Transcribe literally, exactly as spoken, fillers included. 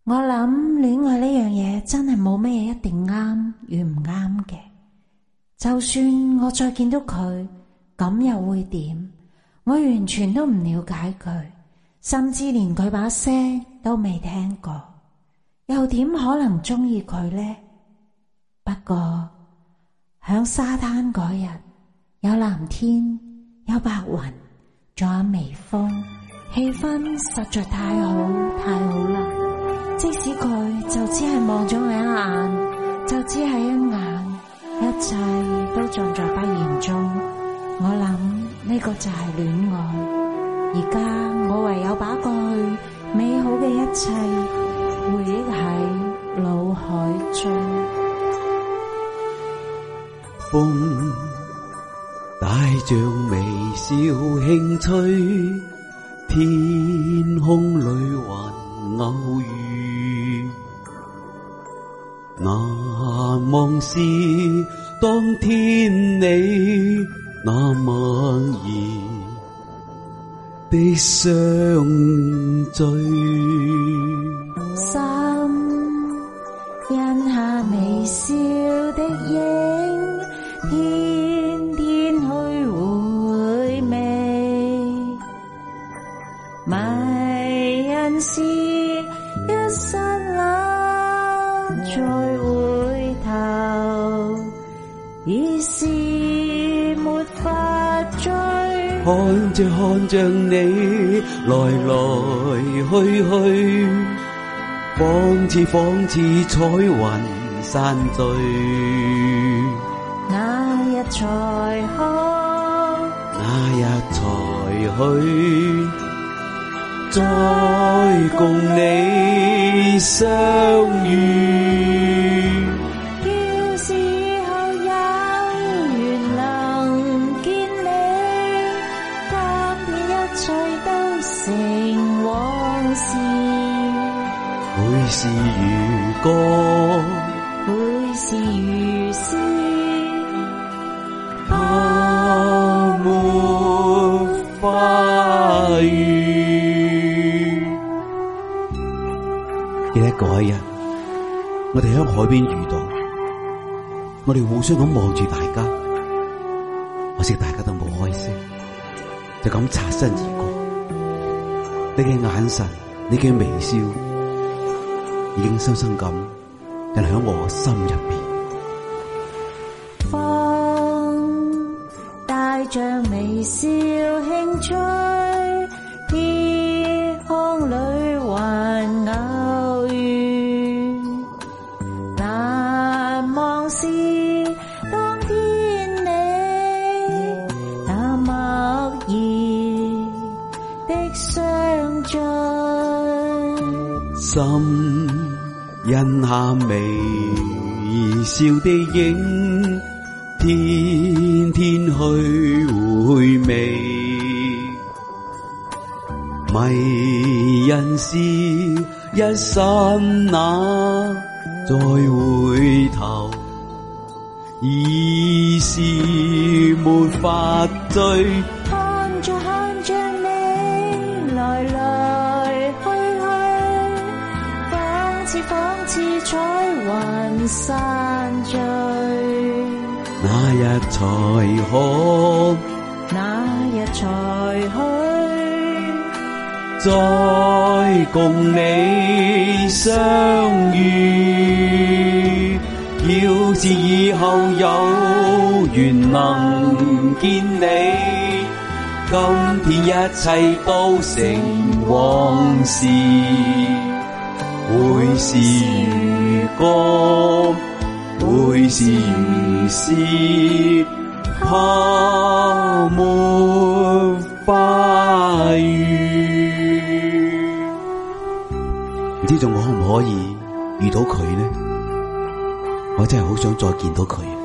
我諗戀愛呢樣嘢真係冇咩一定啱與唔啱嘅。就算我再見到佢，咁又會點？我完全都唔了解佢，甚至連佢把聲都未聽過，又點可能鍾意佢呢？不過響沙灘嗰日，有藍天，有白雲，仲有微風，氣氛實在太好太好啦！即使佢就只係望咗我一眼，就只係一眼，一切都盡在不言中。我諗呢個就係戀愛。而家我唯有把過去美好嘅一切回憶喺腦海中。 風帶着微笑輕吹，天空裏還偶遇。難忘是當天你那默然的相聚， 心印下微笑的影，天天去回味，迷人是一剎那再回頭，已是沒法追。 看着看着你來來去去，仿似仿似彩雲散聚。 那日才可， 那日才去，再共你相遇。 要是以後有緣能見你，今天一切都成往事。 會是如歌， 會是如詩， 怕沒花雨。記得嗰一日，我哋喺海邊遇到，我哋互相咁望住大家，可惜大家都冇開聲，就咁擦身而過。你嘅眼神，你嘅微笑，已經深深咁印喺我心入邊。 風帶着微笑輕吹，天空裏還偶遇。難忘是當天你那默然的相聚， 心印下微笑的影，天天去回味。迷人是一剎那，再回頭已是沒法追。 看着看着你來來去去，仿似仿似彩雲散聚。 那日才可， 那日才去， 再共你相遇。要是以後有緣能見你，今天一切都成往事。會是如歌，會是如詩，怕沒花雨。唔知仲可唔可以遇到佢呢？我真係好想再見到佢。